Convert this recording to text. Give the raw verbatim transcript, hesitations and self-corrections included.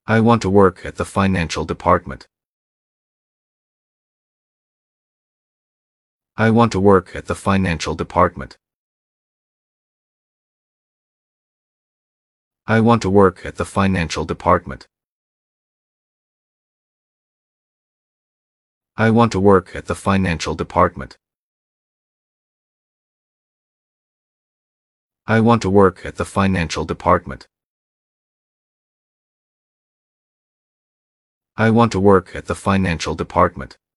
I want to work at the financial department. I want to work at the financial department. I want to work at the financial department. I want to work at the financial department. I want to work at the financial department. I want to work at the financial department.